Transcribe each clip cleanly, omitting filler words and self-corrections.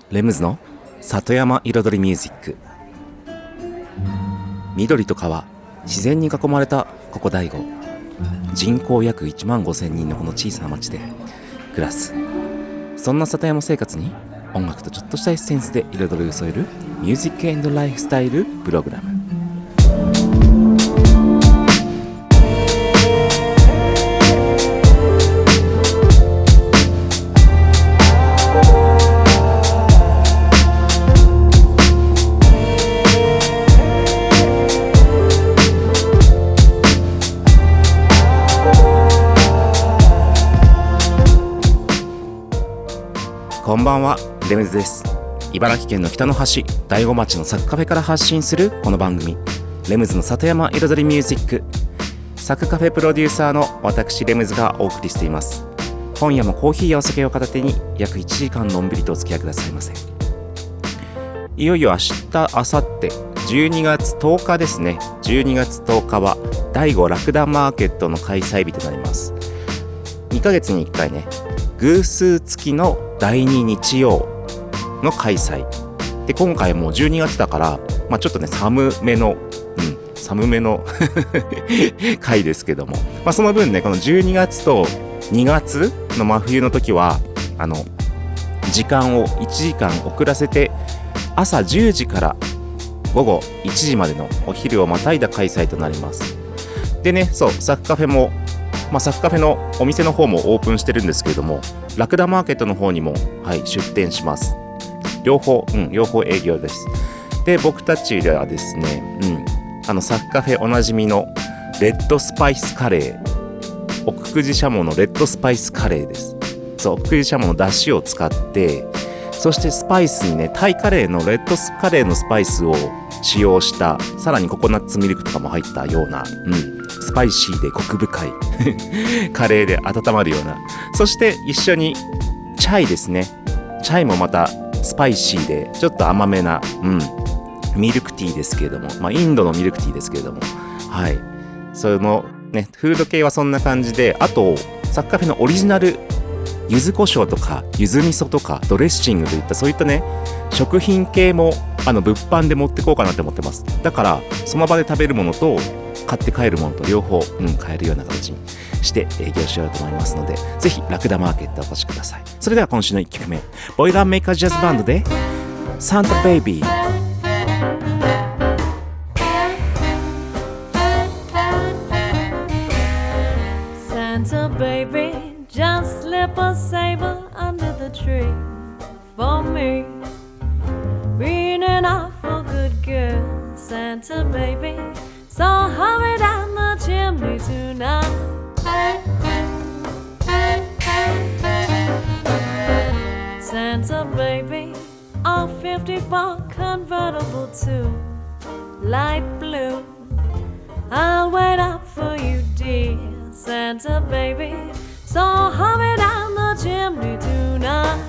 レムズの里山彩りミュージック。緑と川、自然に囲まれたここ大子。人口約1万5,000人のこの小さな町で暮らす、そんな里山生活に音楽とちょっとしたエッセンスで彩りを添えるミュージック&ライフスタイルプログラム。こんばんは、レムズです。茨城県の北の端、大子町のサクカフェから発信するこの番組、レムズの里山彩りミュージック。サクカフェプロデューサーの私レムズがお送りしています。今夜もコーヒーやお酒を片手に約1時間のんびりとお付き合いくださいませ。いよいよ明日、明後日12月10日ですね。12月10日は大子ラクダマーケットの開催日となります。2ヶ月に1回ね、偶数付きの第2日曜の開催で、今回もう12月だから、ちょっとね寒めの回ですけども、その分ね、この12月と2月の真冬の時は時間を1時間遅らせて、朝10時から午後1時までのお昼をまたいだ開催となります。でね、そう、サクカフェもサクカフェのお店の方もオープンしてるんですけれども、ラクダマーケットの方にも、出店します。両方営業です。で、僕たちではですね、サクカフェおなじみのレッドスパイスカレー、奥久慈しゃものレッドスパイスカレーです。そう、奥久慈しゃもの出汁を使って、そしてスパイスにね、タイカレーのレッドスカレーのスパイスを使用した、さらにココナッツミルクとかも入ったような、スパイシーでコク深いカレーで温まるような、そして一緒にチャイですね。チャイもまたスパイシーでちょっと甘めな、ミルクティーですけれども、インドのミルクティーですけれども、そのね、フード系はそんな感じで、あとサクカフェのオリジナル柚子胡椒とか柚子味噌とかドレッシングといった、そういったね食品系も物販で持ってこうかなって思ってます。だからその場で食べるものと買って帰るものと両方、買えるような形にして営業しようと思いますので、ぜひラクダマーケットお越しください。それでは今週の1曲目、ボイラーメーカージャズバンドでサンタベイビー。 Santa baby, just slip a sable under the tree for me. Being an awful good girl, Santa baby, so hurry down the chimney tonight. Santa baby, a 54 convertible to light blue. I'll wait up for you, dear Santa baby, so hurry down the chimney tonight.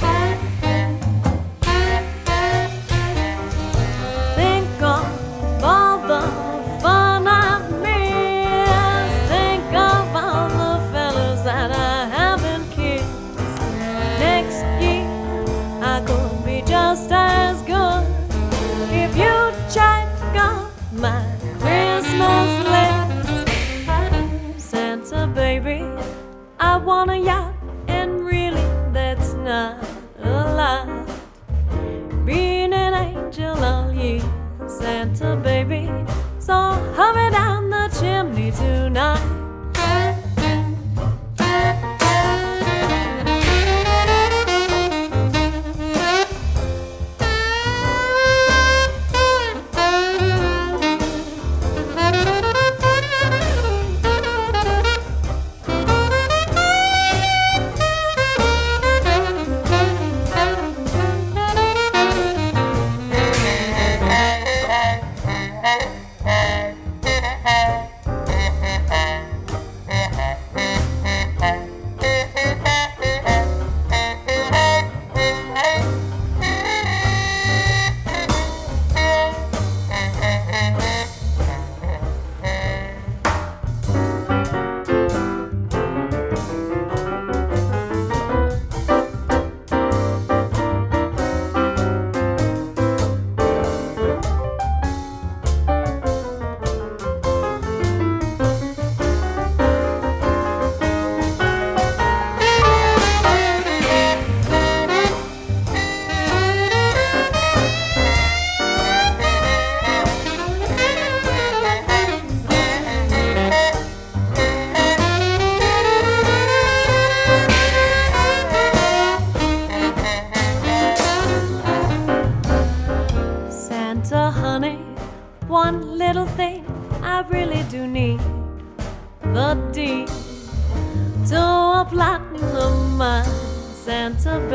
Think of all the fun I've missed. Think of all the fellas that I haven't kissed. Next year I could be just as good if you check off my Christmas list. Santa baby, I want a yacht, and really that's not a lot. Being an angel all year, Santa baby, so hurry down the chimney tonight.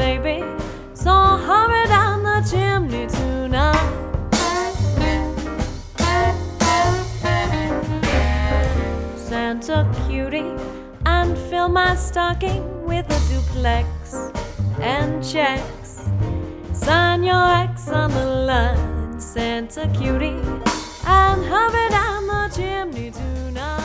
baby, so hurry down the chimney tonight. Santa cutie, and fill my stocking with a duplex and checks. Sign your X on the line, Santa cutie, and hurry down the chimney tonight.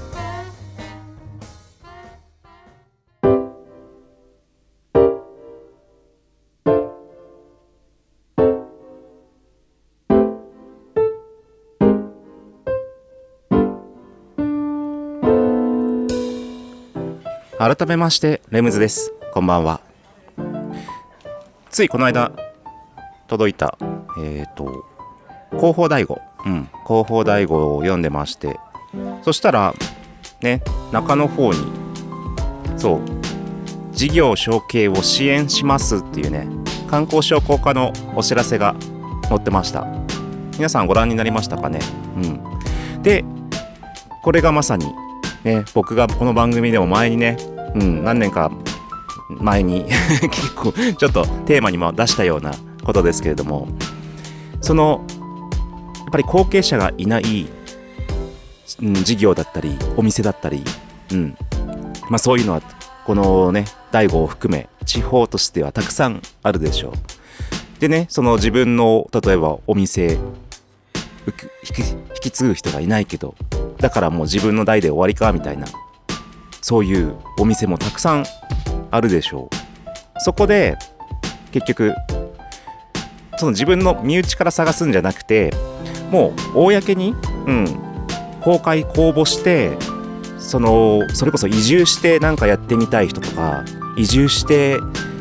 改めましてレムズです。こんばんは。ついこの間届いた広報大悟、広報大悟を読んでまして、そしたらね、中の方にそう事業承継を支援しますっていうね、観光商工課のお知らせが載ってました。皆さんご覧になりましたかね。でこれがまさにね、僕がこの番組でも前にね、何年か前に結構ちょっとテーマにも出したようなことですけれども、そのやっぱり後継者がいない、事業だったりお店だったり、そういうのはこのね大悟を含め地方としてはたくさんあるでしょう。でね、その自分の例えばお店引き継ぐ人がいないけど、だからもう自分の代で終わりかみたいな、そういうお店もたくさんあるでしょう。そこで結局その自分の身内から探すんじゃなくて、もう公に、公開公募して、それこそ移住してなんかやってみたい人とか、移住して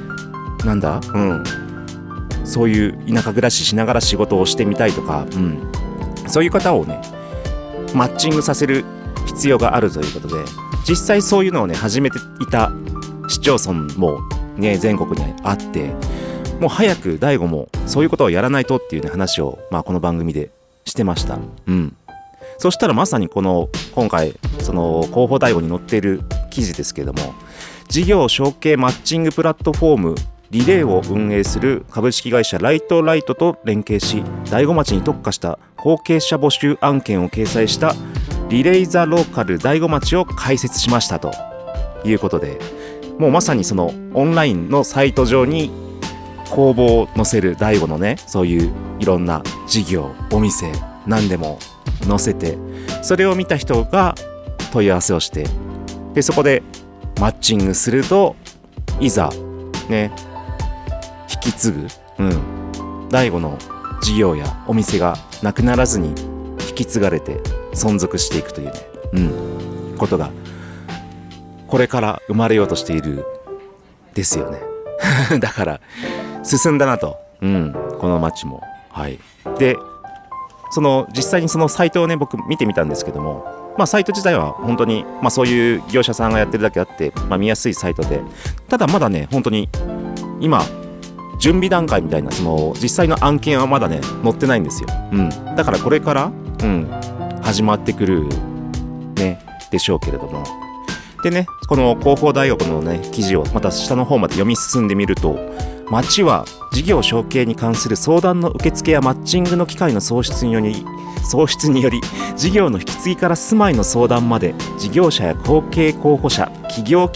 そういう田舎暮らししながら仕事をしてみたいとか、そういう方をねマッチングさせる必要があるということで、実際そういうのをね始めていた市町村もね全国にあって、もう早く大悟もそういうことをやらないとっていうね話を、この番組でしてました。そしたらまさに今回その広報大悟に載っている記事ですけれども、事業承継マッチングプラットフォームリレーを運営する株式会社ライトライトと連携し、大子町に特化した後継者募集案件を掲載したリレイザローカル大子町を開設しましたということで、もうまさにそのオンラインのサイト上に公募を載せる大子のね、そういういろんな事業お店何でも載せて、それを見た人が問い合わせをして、でそこでマッチングすると、いざね引き継ぐ、大悟の事業やお店がなくならずに引き継がれて存続していくというね、ことがこれから生まれようとしているですよねだから進んだなと、この街も。で実際にそのサイトをね僕見てみたんですけども、サイト自体は本当に、そういう業者さんがやってるだけあって、見やすいサイトで、ただまだね本当に今準備段階みたいな、その実際の案件はまだね載ってないんですよ。だからこれから、始まってくるねでしょうけれども、でねこの広報大学のね記事をまた下の方まで読み進んでみると、町は事業承継に関する相談の受付やマッチングの機会の創出により事業の引き継ぎから住まいの相談まで、事業者や後継候補者、希望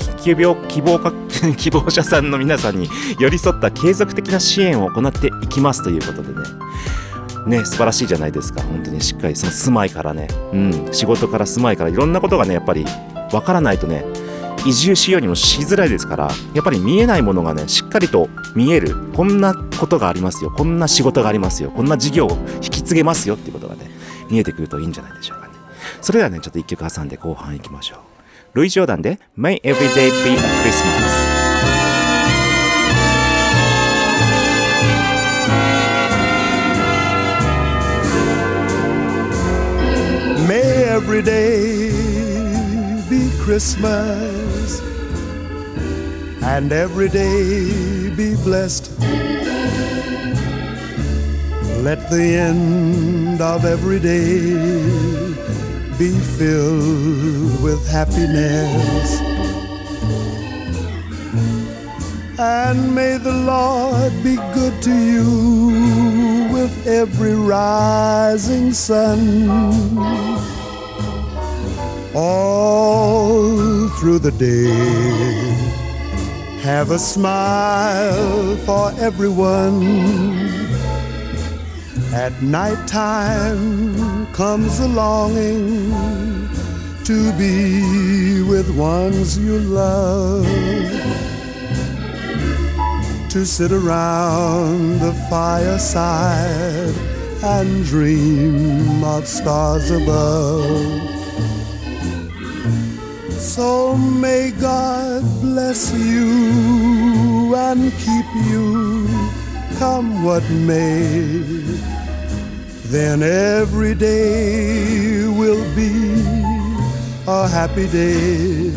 者さんの皆さんに寄り添った継続的な支援を行っていきますということでね、素晴らしいじゃないですか。本当にしっかりその住まいからね、仕事から住まいからいろんなことがねやっぱりわからないとね移住しようにもしづらいですから、やっぱり見えないものがねしっかりと見える、こんなことがありますよ、こんな仕事がありますよ、こんな事業を引き継げますよっていうことがね見えてくるといいんじゃないでしょうかね。それではねちょっと一曲挟んで後半いきましょう。ルイ・ジョーダンで May Every Day Be a Christmas。May every day be Christmas, and every day be blessed. Let the end of every day be filled with happiness. And may the Lord be good to you with every rising sun. All through the day, have a smile for everyone. At night time comes a longing to be with ones you love, to sit around the fireside and dream of stars above. So may God bless you and keep you, come what may. Then every day will be a happy day.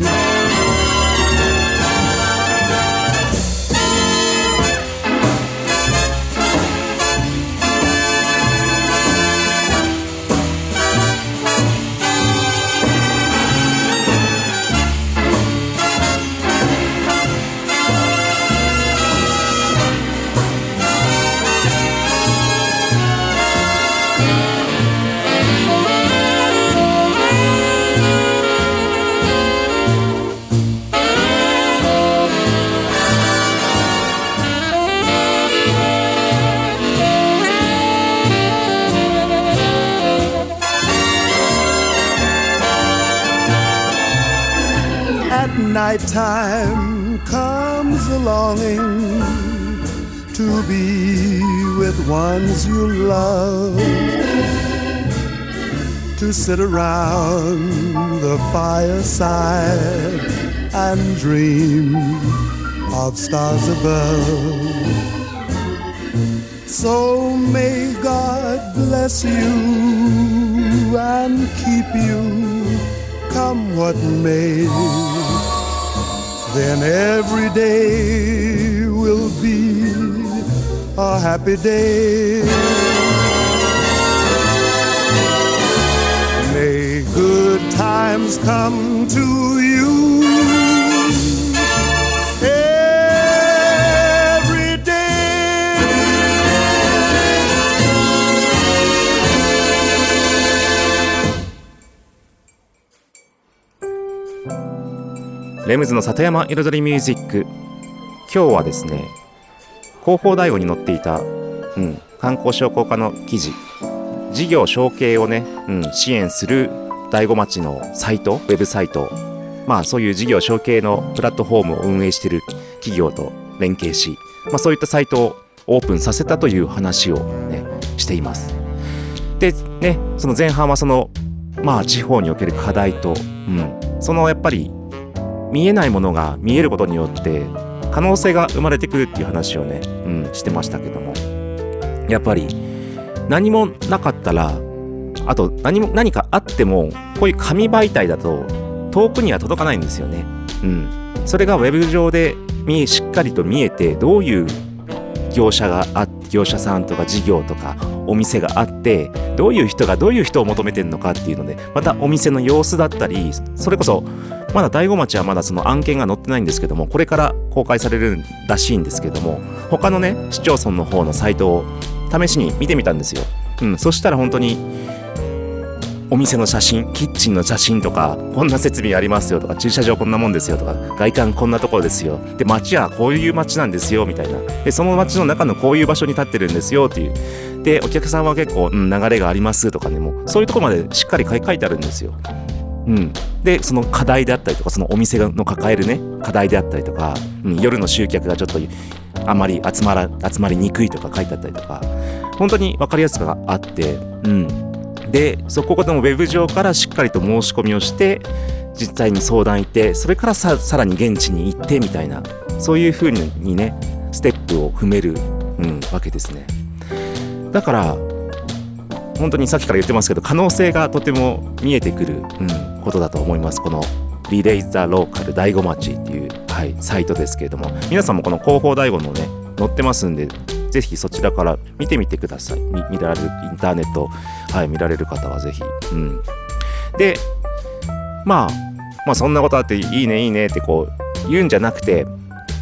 Nighttime comes a longing to be with ones you love, to sit around the fireside and dream of stars above. So may God bless you and keep you, come what may. Then every day will be a happy day. May good times come to you every day. レムズの里山彩りミュージック。今日はですね、広報大悟に載っていた、観光商工課の記事、事業承継をね、支援する大子町のサイト、ウェブサイト、そういう事業承継のプラットフォームを運営している企業と連携し、そういったサイトをオープンさせたという話をねしています。でね、その前半はその地方における課題と、そのやっぱり見えないものが見えることによって可能性が生まれてくるっていう話をね、してましたけども、やっぱり何もなかったら、あと何かあってもこういう紙媒体だと遠くには届かないんですよね。それがウェブ上でしっかりと見えて、どういう業者さんとか事業とかお店があって、どういう人がどういう人を求めてるのかっていうので、またお店の様子だったり、それこそまだ大子町はまだその案件が載ってないんですけども、これから公開されるらしいんですけども、他のね市町村の方のサイトを試しに見てみたんですよ。そしたら本当にお店の写真、キッチンの写真とか、こんな設備ありますよとか、駐車場こんなもんですよとか、外観こんなところですよ、で街はこういう街なんですよみたいな、でその街の中のこういう場所に立ってるんですよっていう、でお客さんは結構、流れがありますとかね、もうそういうところまでしっかり書いてあるんですよ。でその課題であったりとか、そのお店の抱えるね課題であったりとか、夜の集客がちょっとあまり集まりにくいとか書いてあったりとか、本当に分かりやすさがあって、でそこでもウェブ上からしっかりと申し込みをして、実際に相談行って、それからさらに現地に行ってみたいな、そういう風にねステップを踏める、わけですね。だから本当にさっきから言ってますけど、可能性がとても見えてくる、ことだと思います。このリレイザローカル大子町っていう、サイトですけれども、皆さんもこの広報大子のね載ってますんで、ぜひそちらから見てみてください。見られるインターネット、見られる方はぜひ。で、そんなことあっていいねってこう言うんじゃなくて、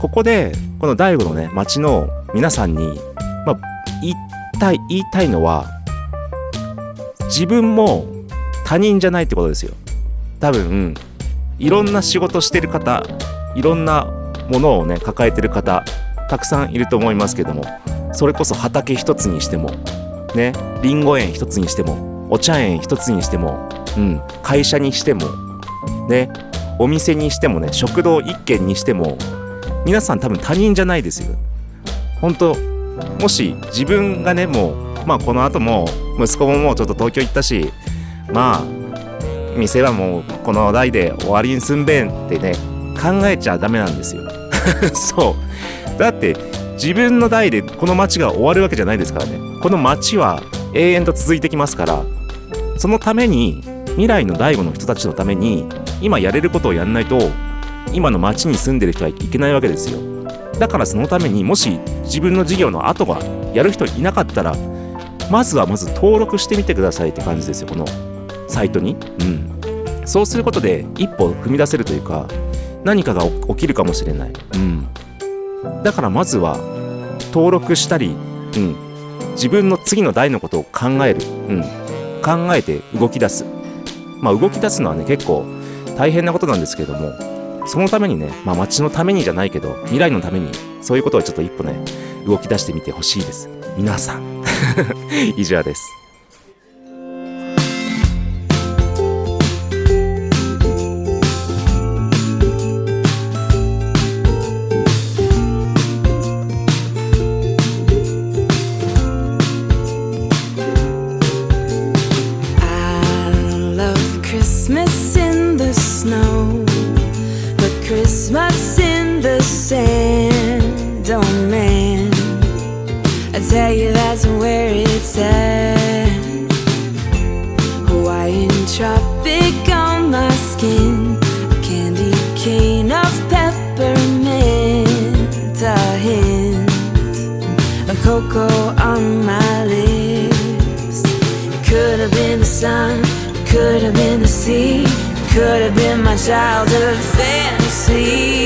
ここでこの大悟のね町の皆さんに、言いたいのは、自分も他人じゃないってことですよ。多分いろんな仕事してる方、いろんなものをね抱えてる方たくさんいると思いますけども、それこそ畑一つにしてもね、リンゴ園一つにしても、お茶園一つにしても、会社にしてもね、お店にしてもね、食堂一軒にしても、皆さん多分他人じゃないですよ。本当、もし自分がね、もうこの後も息子ももうちょっと東京行ったし、店はもうこの代で終わりにすんべんってね考えちゃダメなんですよそうだって、自分の代でこの街が終わるわけじゃないですからね。この街は永遠と続いてきますから、そのために、未来の大悟の人たちのために今やれることをやんないと、今の街に住んでる人はいけないわけですよ。だからそのために、もし自分の事業の後がやる人いなかったら、まず登録してみてくださいって感じですよ、このサイトに。そうすることで一歩踏み出せるというか、何かが起きるかもしれない。だからまずは登録したり、自分の次の代のことを考える、考えて動き出す。動き出すのはね結構大変なことなんですけれども、そのためにね、街のためにじゃないけど未来のために、そういうことをちょっと一歩ね動き出してみてほしいです、皆さん以上です。 Christmas in the snow, but Christmas in the sand. Oh man, I tell you that's where it's at. Hawaiian tropic on my skin, a candy cane of peppermint, a hint of cocoa on my lips. It could have been the sun, could have been the sea, could have been my childhood fantasy.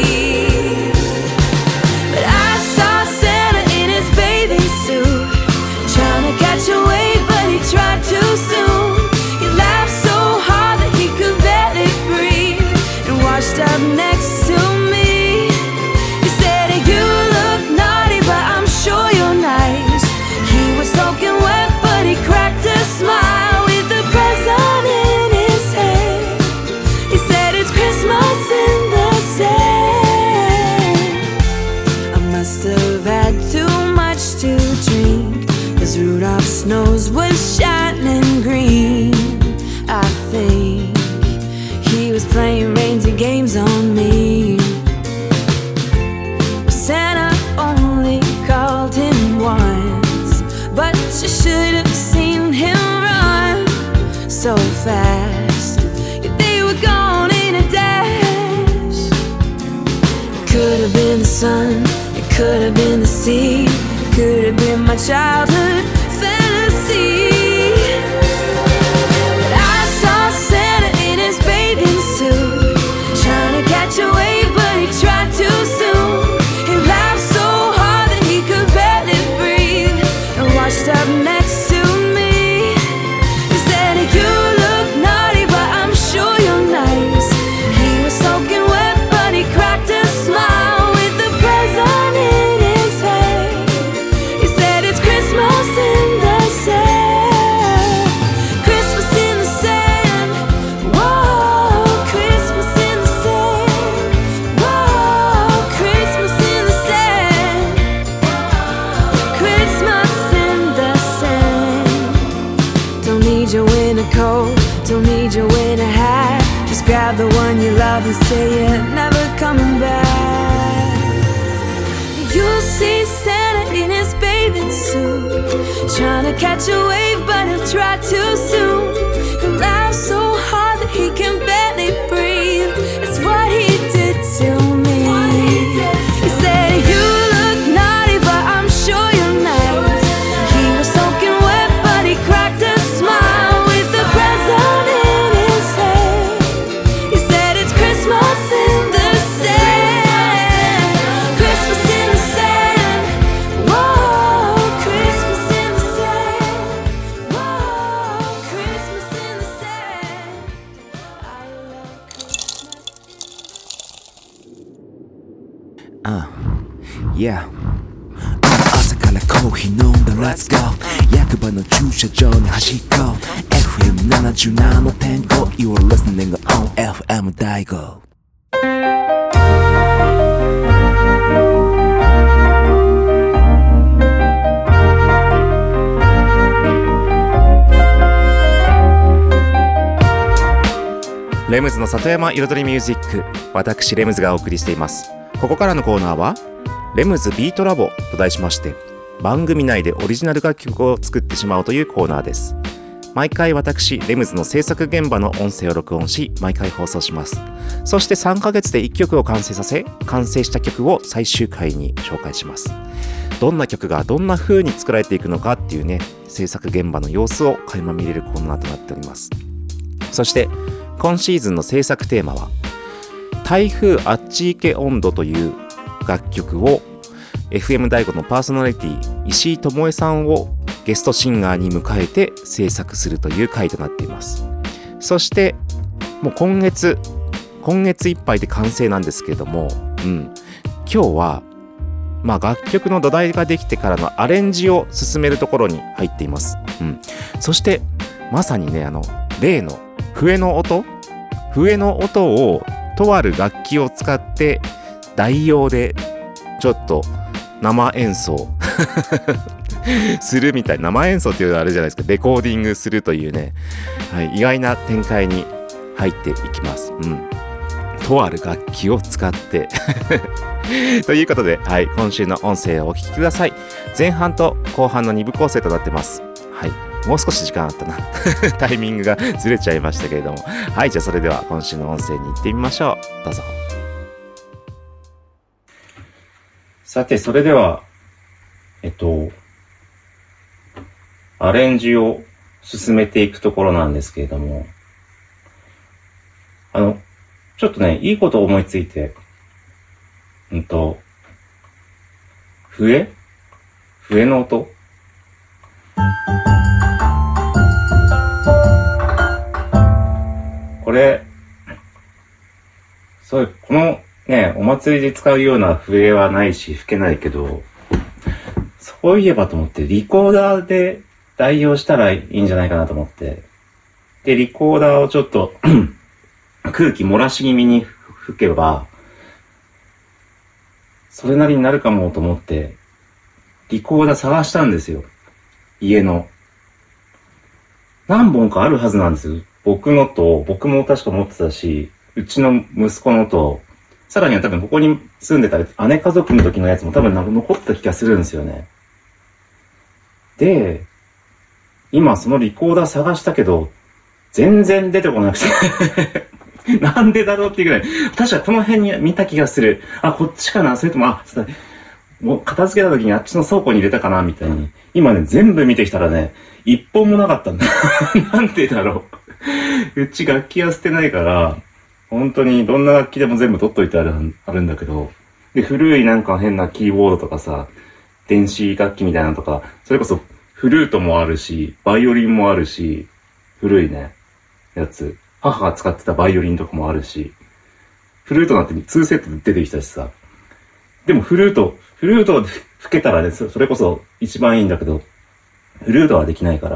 But I saw Santa in his bathing suit, trying to catch a wave, but he tried too soon. He laughed so hard that he could barely breathe, and washed up next to me. He said, "You look naughty, but I'm sure you're nice." He was soaking wet, but he cracked a smile with the present in his hand. He said, "It's Christmas in the sand." I must have had too much to drink, 'cause Rudolph's nose was shining green. I think he was playing reindeer games on me. Santa only called him once, but you should have seen him run so fast. Yeah, they were gone in a dash. It could have been the sun, it could have been the sea, it could have been my childhood fantasy. But I saw Santa in his bathing suit, trying to catch a wave, but he tried too soon. He laughed so hard that he could barely breathe, and washed up next to me. He said, "You look naughty, but I'm sure you're nice." He was soaking wet, but he cracked a smile with the present in his hand. He said, "It's Christmas in the sand." Christmas in the sand. Whoa, Christmas in the sand. Whoa, Christmas in the sand. Christmas in the sand. Don't need your winter coat, don't need your winter hat. Just grab the one you love and say you're never coming back. You'll see Santa in his bathing suit, trying to catch a wave, but he'll try too soon. He'll laugh so hard that he can barely breathe. It's what he did to me. He said, "You look naughty, but I'm sure you're nice." He was soaking wet, but he cracked a smile with the present in his hand. He said, "It's Christmas in the sand." Yeah朝からコーヒー飲んだ Let's go 役場の駐車場に走っこう FM77.5 You are listening on FM 大悟レムズの里山彩りミュージック、私レムズがお送りしています。ここからのコーナーはレムズビートラボと題しまして、番組内でオリジナル楽曲を作ってしまおうというコーナーです。毎回私レムズの制作現場の音声を録音し、毎回放送します。そして3ヶ月で1曲を完成させ、完成した曲を最終回に紹介します。どんな曲がどんな風に作られていくのかっていうね、制作現場の様子を垣間見れるコーナーとなっております。そして今シーズンの制作テーマは台風あっち行け温度という楽曲を FM 大悟のパーソナリティ石井智恵さんをゲストシンガーに迎えて制作するという回となっています。そしてもう今月いっぱいで完成なんですけれども、今日は楽曲の土台ができてからのアレンジを進めるところに入っています。そしてまさにね、例の笛の音をとある楽器を使って代用でちょっと生演奏するみたいな、生演奏っていうのはあれじゃないですか、レコーディングするというね、意外な展開に入っていきます。とある楽器を使ってということで、今週の音声をお聞きください。前半と後半の2部構成となってます。もう少し時間あったなタイミングがずれちゃいましたけれども、じゃあそれでは今週の音声に行ってみましょう。どうぞ。さて、それではアレンジを進めていくところなんですけれども、ちょっとね、いいことを思いついて、笛の音、これ、このね、お祭りで使うような笛はないし吹けないけど、そういえばと思ってリコーダーで代用したらいいんじゃないかなと思って、でリコーダーをちょっと空気漏らし気味に吹けばそれなりになるかもと思ってリコーダー探したんですよ。家の何本かあるはずなんですよ。僕も確か持ってたし、うちの息子のと、さらには多分ここに住んでた姉家族の時のやつも多分残った気がするんですよね。で、今そのリコーダー探したけど、全然出てこなくて。なんでだろうっていうぐらい。確かこの辺に見た気がする。こっちかな、それとも、もう片付けた時にあっちの倉庫に入れたかなみたいに。今ね、全部見てきたらね、一本もなかったんだ。なんでだろう。うち楽器は捨てないから、本当にどんな楽器でも全部取っといてあるんだけど、で、古いなんか変なキーボードとかさ、電子楽器みたいなのとか、それこそフルートもあるし、バイオリンもあるし、古いね、やつ。母が使ってたバイオリンとかもあるし、フルートなんて2セットで出てきたしさ。でもフルートで吹けたらね、それこそ一番いいんだけど、フルートはできないから、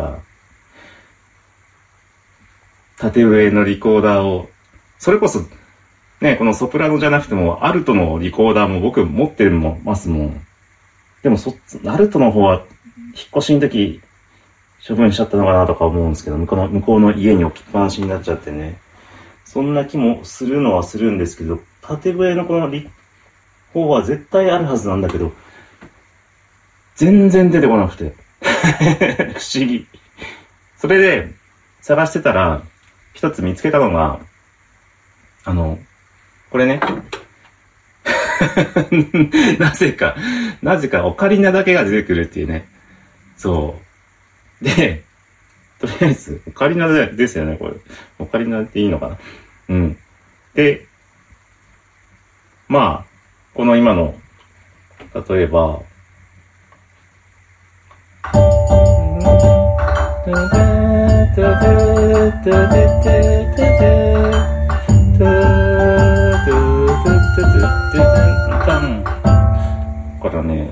縦上のリコーダーを、それこそ、ね、このソプラノじゃなくても、アルトのリコーダーも僕持ってますもん。でもアルトの方は、引っ越しの時、処分しちゃったのかなとか思うんですけど、向こうの家に置きっぱなしになっちゃってね。そんな気もするのはするんですけど、縦笛のこの方は絶対あるはずなんだけど、全然出てこなくて。不思議。それで、探してたら、一つ見つけたのが、これね。なぜかオカリナだけが出てくるっていうね。そう。で、とりあえず、オカリナですよね、これ。オカリナっていいのかな。うん。で、まあ、この今の、例えば、これかね。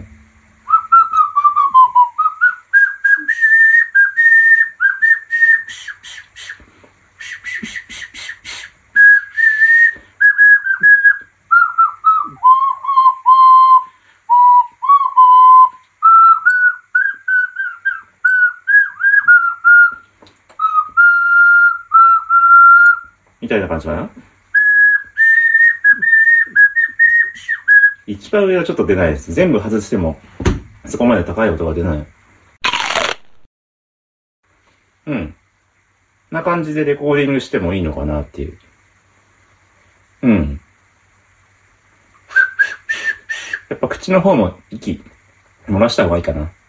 みたいな感じかな。一番上はちょっと出ないです。全部外してもそこまで高い音が出ない。な感じでレコーディングしてもいいのかなっていう。やっぱ口の方も息漏らした方がいいかな。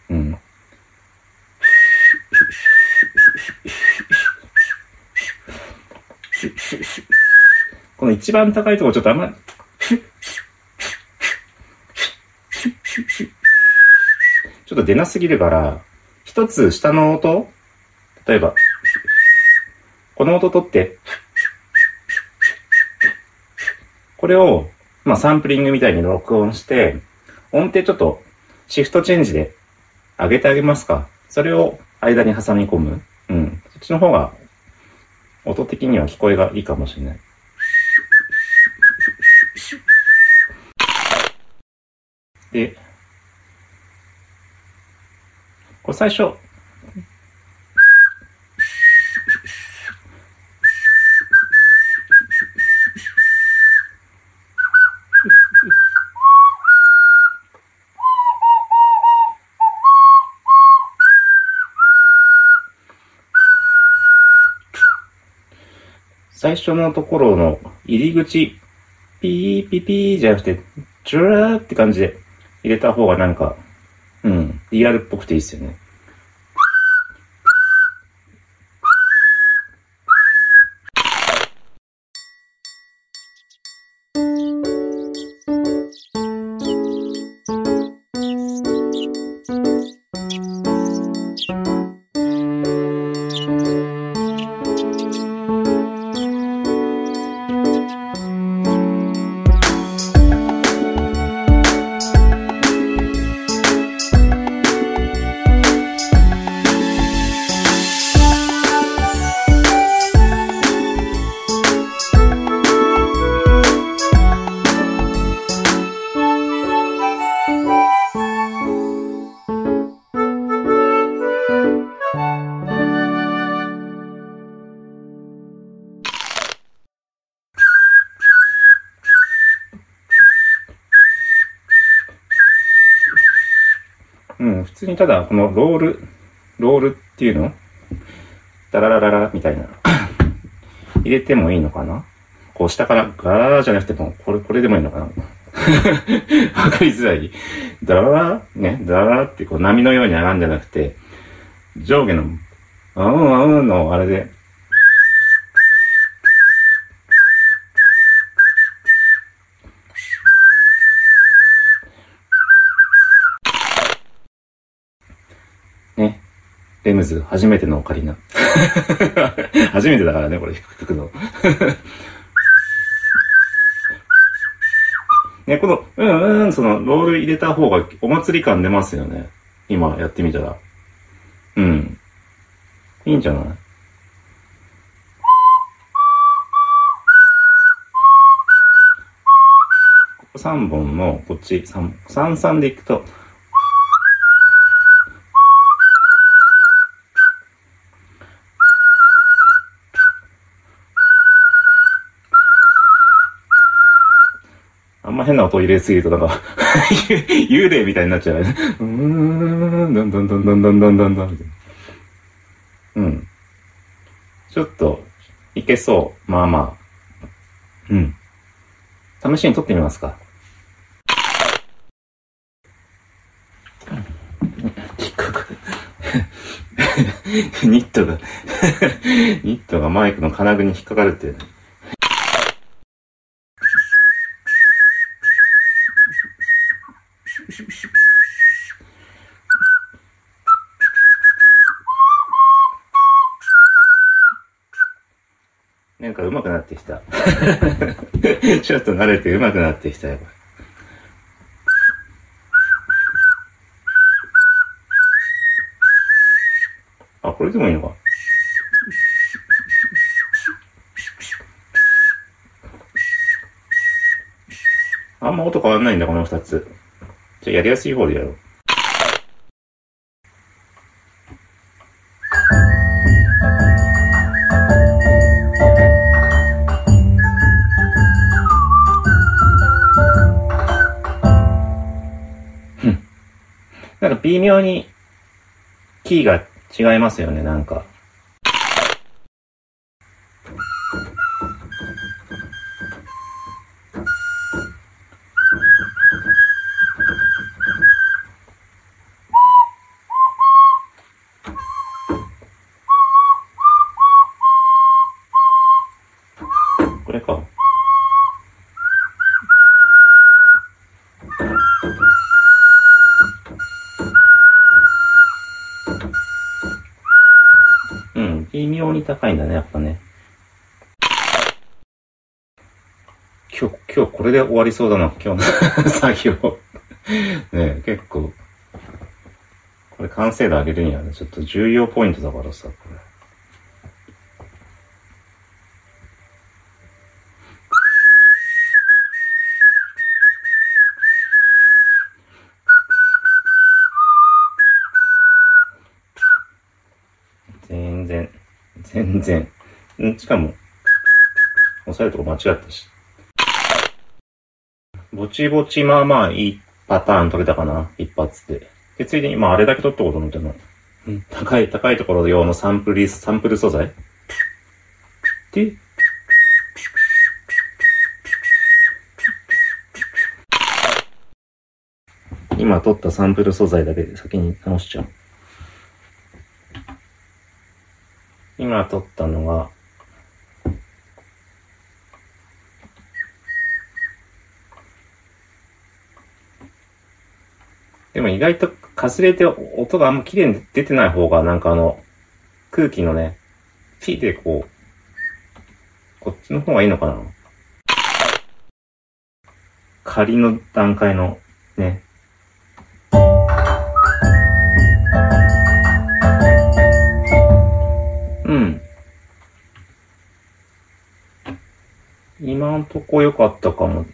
この一番高いところちょっとあんまりちょっと出なすぎるから、一つ下の音、例えばこの音取って、これをサンプリングみたいに録音して、音程ちょっとシフトチェンジで上げてあげますか。それを間に挟み込む。そっちの方が音的には聞こえがいいかもしれない。で、これ最初、最初のところの入り口、ピーピピーじゃなくて、チュラーって感じで入れた方がなんか、リアルっぽくていいですよね。普通にただこのロールっていうのダララララみたいな入れてもいいのかな。こう下からガララじゃなくてもこれでもいいのかな。わかりづらい。ダララね、ダララってこう波のように上がるんじゃなくて、上下ののあれでね、レムズ初めてのオカリナ初めてだからね、これ吹くのね、このそのロール入れた方がお祭り感出ますよね。今やってみたらいいんじゃない。ここ3本のこっち3でいくとあんま変な音入れすぎるとなんか幽霊みたいになっちゃうね。どんどんどんどんどんどんどんどんどん。ちょっといけそう。まあまあ。試しに撮ってみますか。ニットがマイクの金具に引っかかるっていうね。なんか上手くなってきた。ちょっと慣れて上手くなってきたよ。 これでもいいのか。あんま音変わんないんだ、この2つ。じゃあやりやすい方でやろう。なんか微妙にキーが違いますよね、なんか。これか。微妙に高いんだね、やっぱね。今日これで終わりそうだな、今日の作業。ね、結構。これ完成度上げるにはね、ちょっと重要ポイントだからさ、これ。全然。しかも、押さえるとこ間違ったし。ぼちぼちまあまあいいパターン取れたかな、一発で。で、ついでに、まああれだけ取ったこと思っての。高いところ用のサンプル素材で、今取ったサンプル素材だけで先に直しちゃう。今撮ったのが、でも意外とかすれて音があんま綺麗に出てない方がなんか空気のね、ピーでこっちの方がいいのかな。仮の段階のね。今んとこ良かったかも。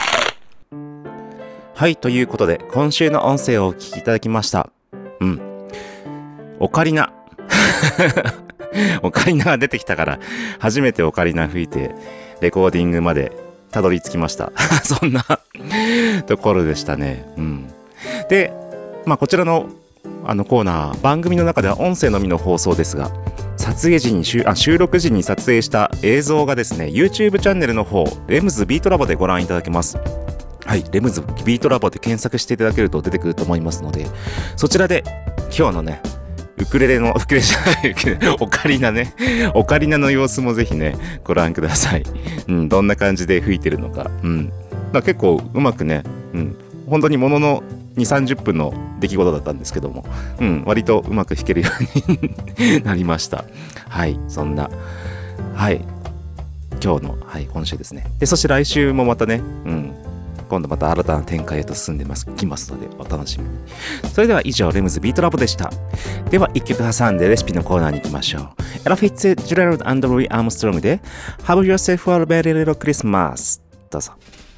はい、ということで今週の音声をお聞きいただきました。オカリナオカリナが出てきたから初めてオカリナ吹いてレコーディングまでたどり着きましたそんなところでしたね。で、こちらのコーナー、番組の中では音声のみの放送ですが、撮影時に収録時に撮影した映像がですね、 YouTube チャンネルの方、レムズビートラボでご覧いただけます。はい、レムズビートラボで検索していただけると出てくると思いますので、そちらで今日のね、オカリナね、オカリナの様子もぜひねご覧ください。どんな感じで吹いてるのか。結構うまくね、本当にものの2、30分の出来事だったんですけども、割とうまく弾けるようになりました。はい、そんな、はい、今日の、今週ですね。で、そして来週もまたね、今度また新たな展開へと進んできますので、お楽しみに。それでは以上、レムズビートラボでした。では、一曲挟んでレシピのコーナーに行きましょう。エラ・フィッツジェラルド&ルイ・アームストロングで Have yourself a very little Christmas。どうぞ。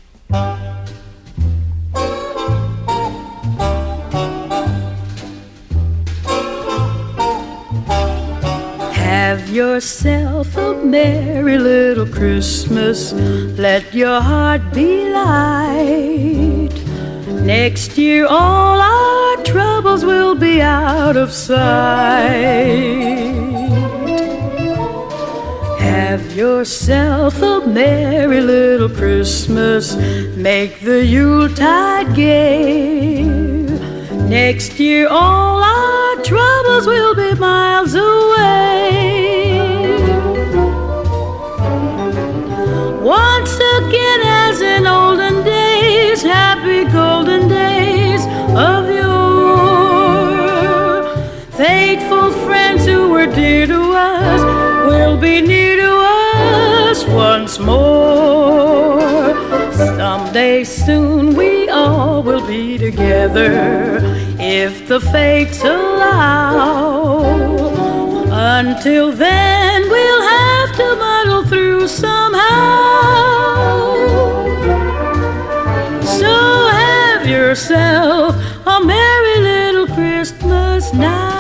Have yourself a merry little Christmas. Let your heart be light. Next year all our troubles will be out of sight. Have yourself a merry little Christmas. Make the Yuletide gay. Next year all our troubles will be miles away.Once again, as in olden days, happy golden days of yore, faithful friends who were dear to us will be near to us once more. Someday soon we all will be together if the fates allow. Until then, we'll have to muddle through somehow. So have yourself a merry little Christmas now.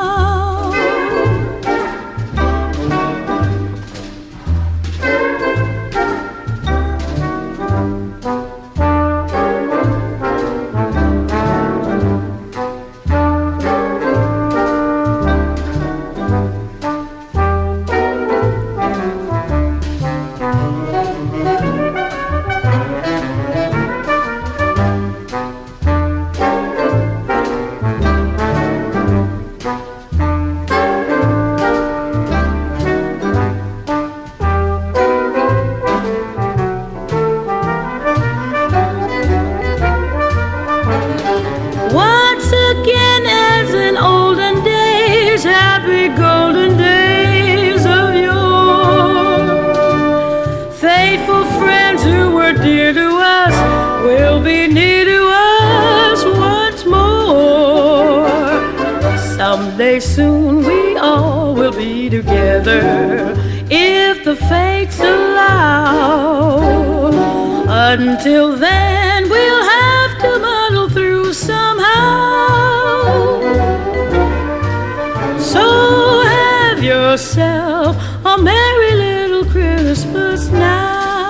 Soon we all will be together if the fates allow. Until then, we'll have to muddle through somehow. So have yourself a merry little Christmas now.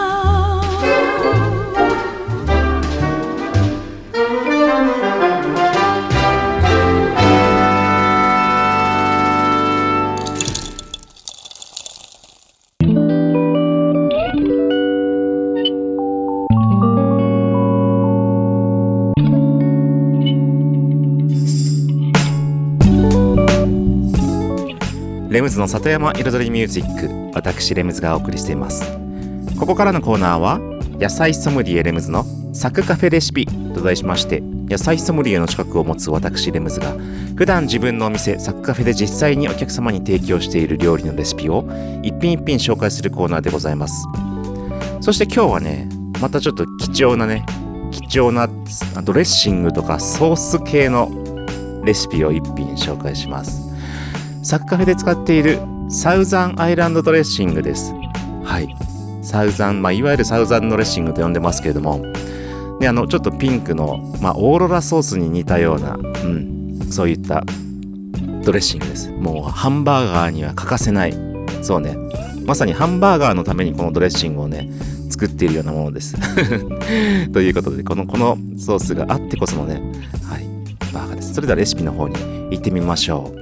レムズの里山彩りミュージック、私レムズがお送りしています。ここからのコーナーは野菜ソムリエレムズのサクカフェレシピと題しまして、野菜ソムリエの資格を持つ私レムズが普段自分のお店サクカフェで実際にお客様に提供している料理のレシピを一品一品紹介するコーナーでございます。そして今日はね、またちょっと貴重なドレッシングとかソース系のレシピを一品紹介します。サクカフェで使っているサウザンアイランドドレッシングです。はい。サウザン、いわゆるサウザンドレッシングと呼んでますけれども、でちょっとピンクの、オーロラソースに似たような、そういったドレッシングです。もうハンバーガーには欠かせない。そうね。まさにハンバーガーのためにこのドレッシングをね、作っているようなものです。ということで、このソースがあってこそのね、はい、バーガーです。それではレシピの方に行ってみましょう。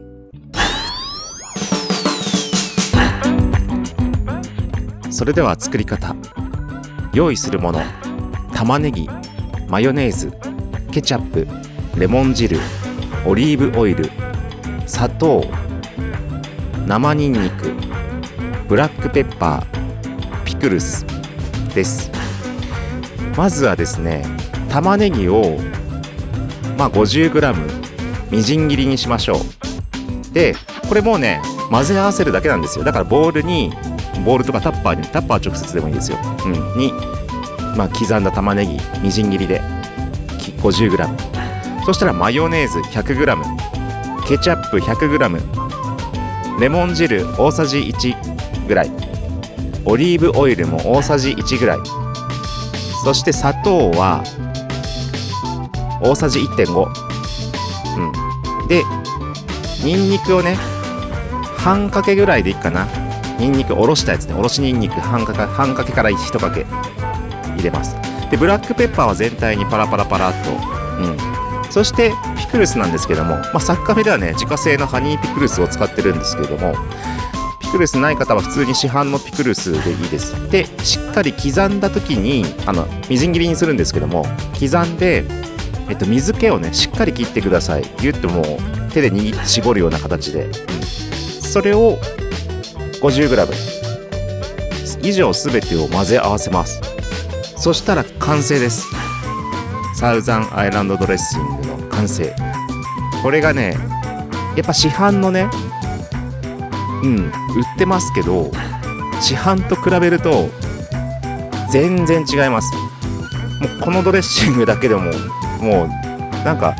それでは作り方。用意するもの、玉ねぎ、マヨネーズ、ケチャップ、レモン汁、オリーブオイル、砂糖、生ニンニク、ブラックペッパー、ピクルスです。まずはですね、玉ねぎを50g みじん切りにしましょう。で、これもうね、混ぜ合わせるだけなんですよ。だからボウルとかタッパー直接でもいいですよ。に、刻んだ玉ねぎみじん切りで 50g。そしたらマヨネーズ 100g、ケチャップ 100g、レモン汁大さじ1ぐらい、オリーブオイルも大さじ1ぐらい、そして砂糖は大さじ 1.5、でニンニクをね、半かけぐらいでいいかな。ニンニクおろしたやつね、おろしニンニク半かけから1かけ入れます。でブラックペッパーは全体にパラパラっと、そしてピクルスなんですけども、サクカフェではね、自家製のハニーピクルスを使ってるんですけれども、ピクルスない方は普通に市販のピクルスでいいです。でしっかり刻んだ時にみじん切りにするんですけども、刻んで水気をね、しっかり切ってください。ギュッともう手で握って絞るような形で、それを50g 以上すべてを混ぜ合わせます。そしたら完成です。サウザンアイランドドレッシングの完成。これがね、やっぱ市販のね、売ってますけど、市販と比べると全然違います。もうこのドレッシングだけでももうなんか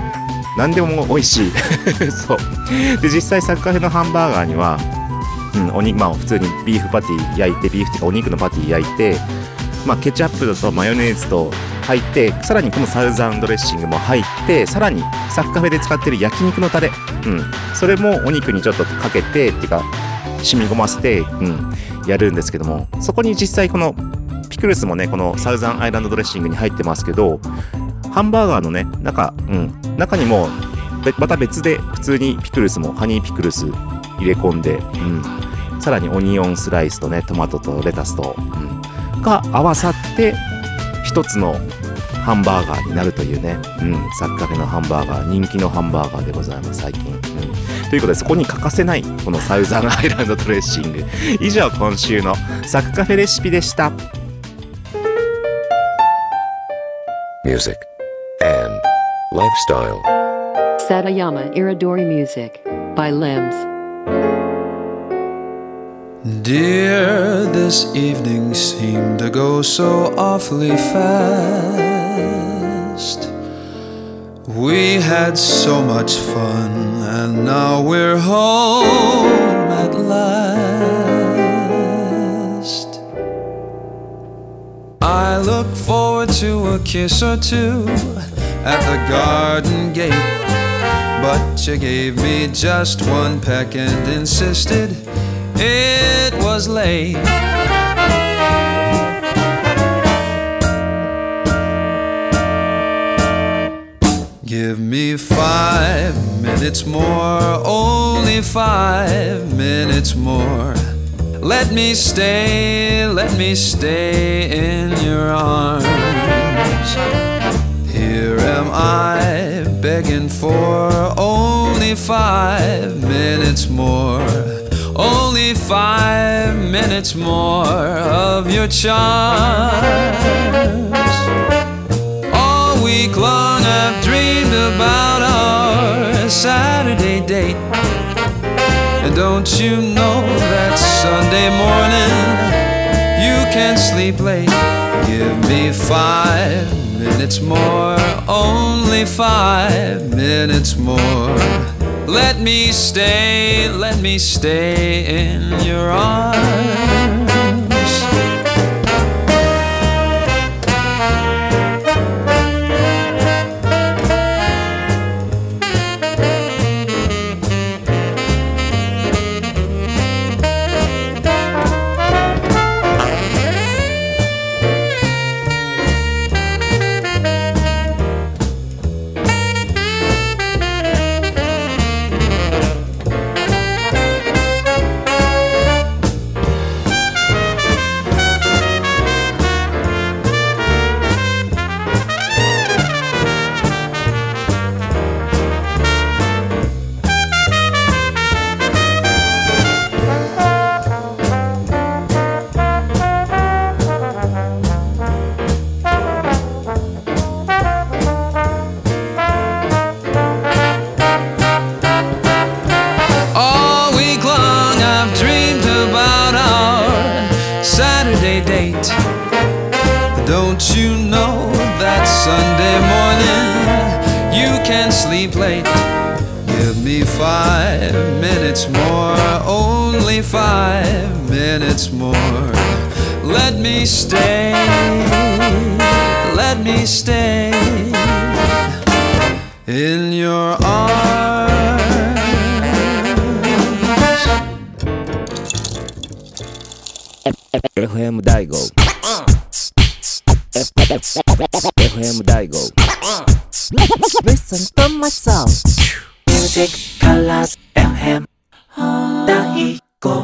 何でも美味しいそうで、実際サッカフェのハンバーガーには、お肉、普通にビーフパティ焼いて、ビーフっていうかお肉のパティ焼いて、ケチャップとマヨネーズと入って、さらにこのサウザンドレッシングも入って、さらにサッカフェで使ってる焼肉のタレ、それもお肉にちょっとかけてっていうか染み込ませて、やるんですけども、そこに実際このピクルスもね、このサウザンアイランドドレッシングに入ってますけど、ハンバーガーのね中にもまた別で普通にピクルスもハニーピクルス入れ込んで、さらにオニオンスライスとね、トマトとレタスと、が合わさって一つのハンバーガーになるというね、サッカフェのハンバーガー、人気のハンバーガーでございます最近、ということで、そこに欠かせないこのサウザンアイランドドレッシング。以上、今週のサッカフェレシピでした。 Music and lifestyle. Satayama Iridori Music by Limbs. Dear, this evening seemed to go so awfully fast. We had so much fun, and now we're home at last. I look forward to a kiss or two at the garden gate, but you gave me just one peck and insisted it was late. Give me 5 minutes more, only 5 minutes more. Let me stay in your arms. Here am I begging for only 5 minutes more. Only 5 minutes more of your charms. All week long I've dreamed about our Saturday date. And don't you know that Sunday morning you can sleep late? Give me 5 minutes more, only 5 minutes more. Let me stay in your arms. Don't you know that Sunday morning you can sleep late? Give me 5 minutes more, only 5 minutes more. Let me stay in your arms. FM 大悟FM 大悟 Listen to my song Music Colors FM 大悟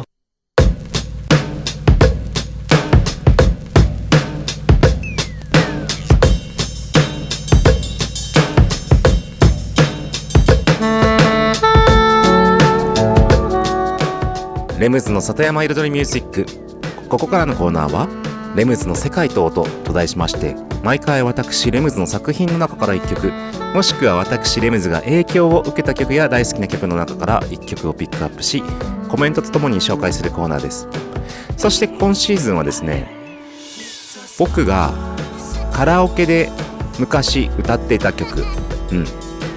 レムズの里山彩りミュージック。ここからのコーナーはレムズの世界と音と題しまして、毎回私レムズの作品の中から1曲、もしくは私レムズが影響を受けた曲や大好きな曲の中から1曲をピックアップし、コメントとともに紹介するコーナーです。そして今シーズンはですね、僕がカラオケで昔歌っていた曲、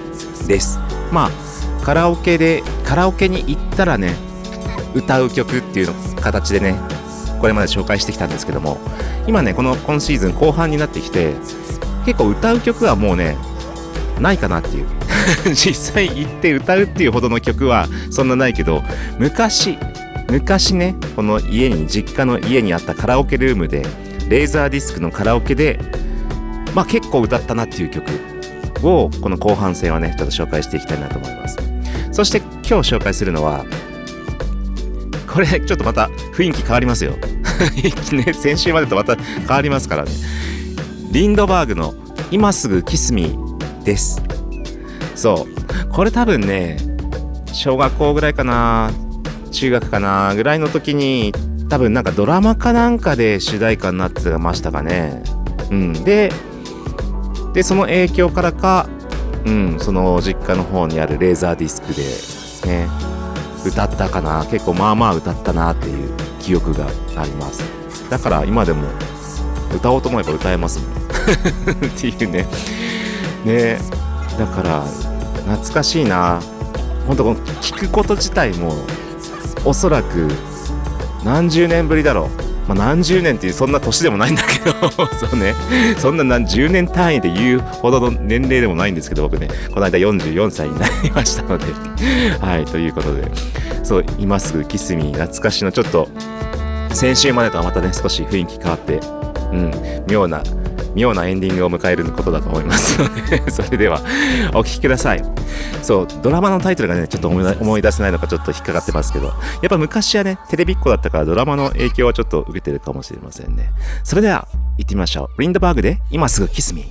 です。まあカラオケに行ったらね歌う曲っていうの形でねこれまで紹介してきたんですけども、今ね今シーズン後半になってきて結構歌う曲はもうねないかなっていう実際行って歌うっていうほどの曲はそんなないけど、昔ねこの実家の家にあったカラオケルームでレーザーディスクのカラオケでまあ結構歌ったなっていう曲をこの後半戦はねちょっと紹介していきたいなと思います。そして今日紹介するのはこれちょっとまた雰囲気変わりますよね、先週までとまた変わりますからね。リンドバーグの今すぐキスミーです。そうこれ多分ね小学校ぐらいかな中学かなぐらいの時に多分なんかドラマかなんかで主題歌になってましたかね。でその影響からか、その実家の方にあるレーザーディスクでね歌ったかな、結構まあまあ歌ったなっていう記憶があります。だから今でも歌おうと思えば歌えますもんっていうね。だから懐かしいな。本当この聞くこと自体もおそらく何十年ぶりだろう。何十年っていうそんな年でもないんだけどそうね、そんな何十年単位で言うほどの年齢でもないんですけど、僕ねこの間44歳になりましたのではい、ということでそう今すぐキスミー懐かしのちょっと先週までとはまたね少し雰囲気変わって妙なエンディングを迎えることだと思いますのでそれではお聴きください。そうドラマのタイトルがねちょっと思い出せないのかちょっと引っかかってますけど、やっぱ昔はねテレビっ子だったからドラマの影響はちょっと受けてるかもしれませんね。それでは行ってみましょう。リンドバーグで今すぐキスミー。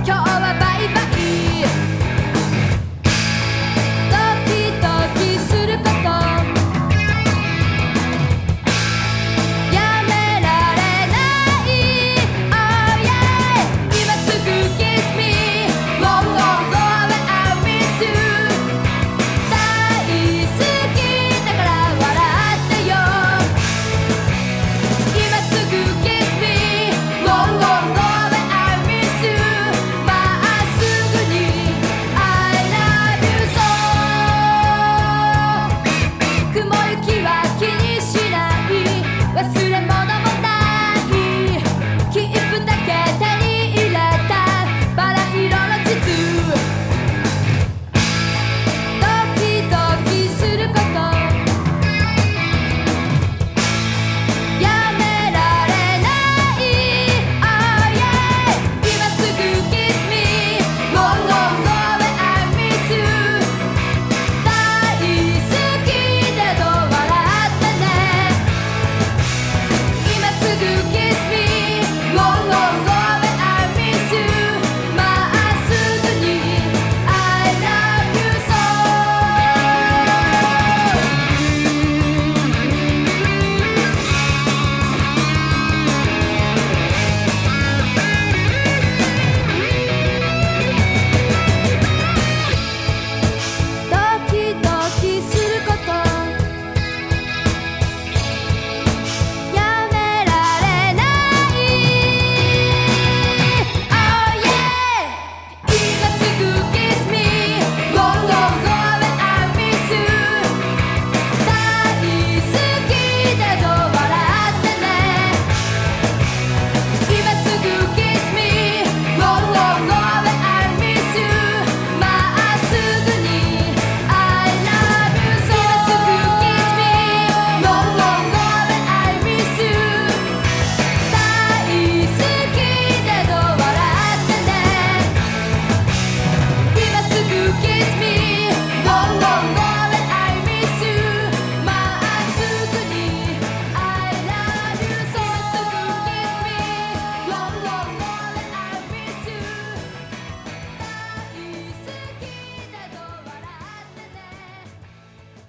ドキドキする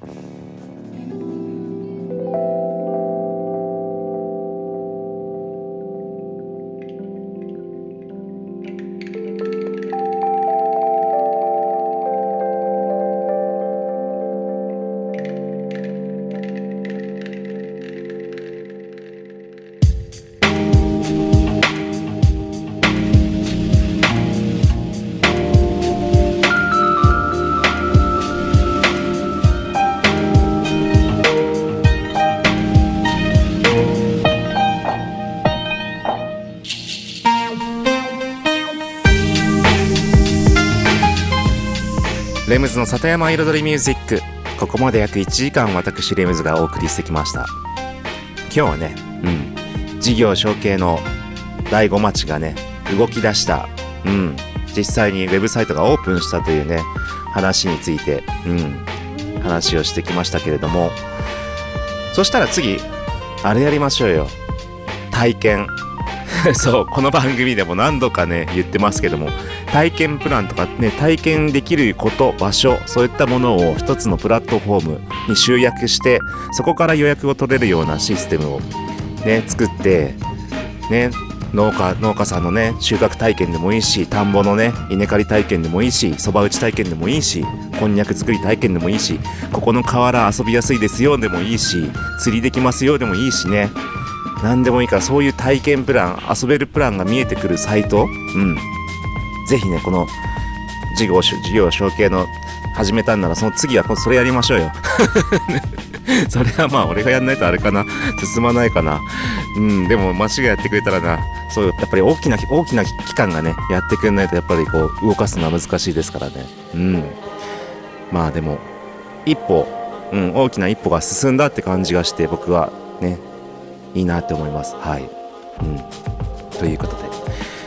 レムズの里山彩りミュージック、ここまで約1時間私レムズがお送りしてきました。今日はね、事業承継の第5町がね動き出した、実際にウェブサイトがオープンしたというね話について、話をしてきましたけれども、そしたら次あれやりましょうよ、体験そうこの番組でも何度かね言ってますけども、体験プランとかね、体験できること、場所、そういったものを一つのプラットフォームに集約して、そこから予約を取れるようなシステムをね作ってね、農家さんのね収穫体験でもいいし、田んぼのね稲刈り体験でもいいし、そば打ち体験でもいいし、こんにゃく作り体験でもいいし、ここの河原遊びやすいですよでもいいし、釣りできますよでもいいしね、何でもいいから、そういう体験プラン、遊べるプランが見えてくるサイト、ぜひね、この事業承継の始めたんなら、その次はそれやりましょうよそれはまあ俺がやんないとあれかな、進まないかな。でも町がやってくれたらな、そうやっぱり大きな機関がねやってくれないと、やっぱりこう動かすのは難しいですからね。まあでも一歩、大きな一歩が進んだって感じがして、僕はねいいなって思います。はい。ということで、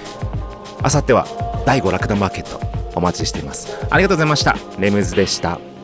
あさっては第5ラクダマーケットお待ちしています。ありがとうございました。レムズでした。